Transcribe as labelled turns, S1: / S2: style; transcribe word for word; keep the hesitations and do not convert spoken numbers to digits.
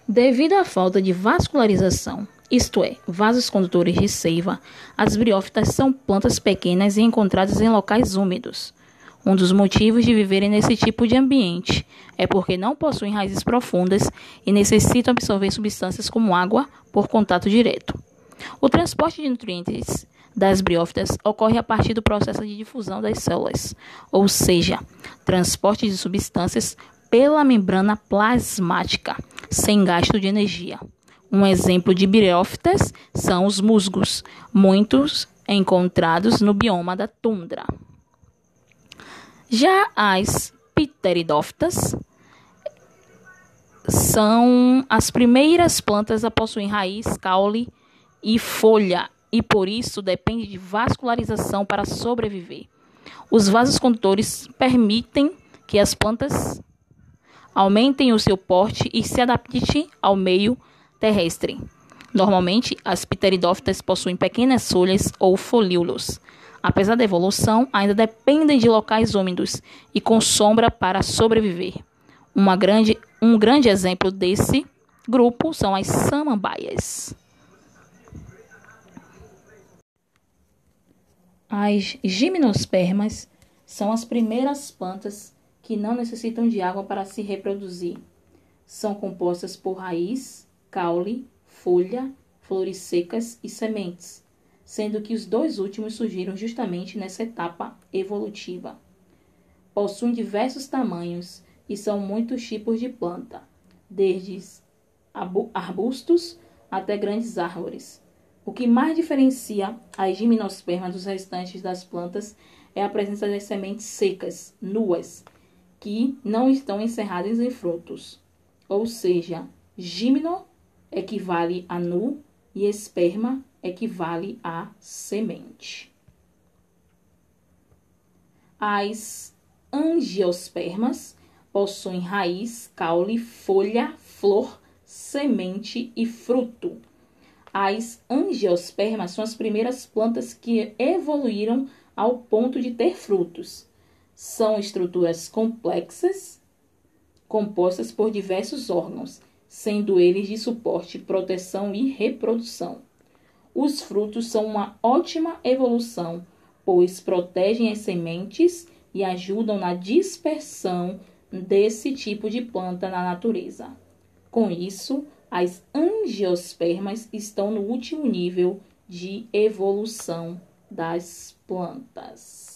S1: Devido à falta de vascularização, isto é, vasos condutores de seiva, as briófitas são plantas pequenas e encontradas em locais úmidos. Um dos motivos de viverem nesse tipo de ambiente é porque não possuem raízes profundas e necessitam absorver substâncias como água por contato direto. O transporte de nutrientes das briófitas ocorre a partir do processo de difusão das células, ou seja, transporte de substâncias pela membrana plasmática, sem gasto de energia. Um exemplo de briófitas são os musgos, muitos encontrados no bioma da tundra. Já as pteridófitas são as primeiras plantas a possuir raiz, caule e folha, e por isso depende de vascularização para sobreviver. Os vasos condutores permitem que as plantas aumentem o seu porte e se adaptem ao meio terrestre. Normalmente, as pteridófitas possuem pequenas folhas ou folíolos. Apesar da evolução, ainda dependem de locais úmidos e com sombra para sobreviver. Uma grande, um grande exemplo desse grupo são as samambaias. As gimnospermas são as primeiras plantas que não necessitam de água para se reproduzir. São compostas por raiz, caule, folha, flores secas e sementes, sendo que os dois últimos surgiram justamente nessa etapa evolutiva. Possuem diversos tamanhos e são muitos tipos de planta, desde arbustos até grandes árvores. O que mais diferencia as gimnospermas dos restantes das plantas é a presença das sementes secas, nuas, que não estão encerradas em frutos. Ou seja, gimno equivale a nu e esperma equivale a semente. As angiospermas possuem raiz, caule, folha, flor, semente e fruto. As angiospermas são as primeiras plantas que evoluíram ao ponto de ter frutos. São estruturas complexas, compostas por diversos órgãos, sendo eles de suporte, proteção e reprodução. Os frutos são uma ótima evolução, pois protegem as sementes e ajudam na dispersão desse tipo de planta na natureza. Com isso, as angiospermas estão no último nível de evolução das plantas.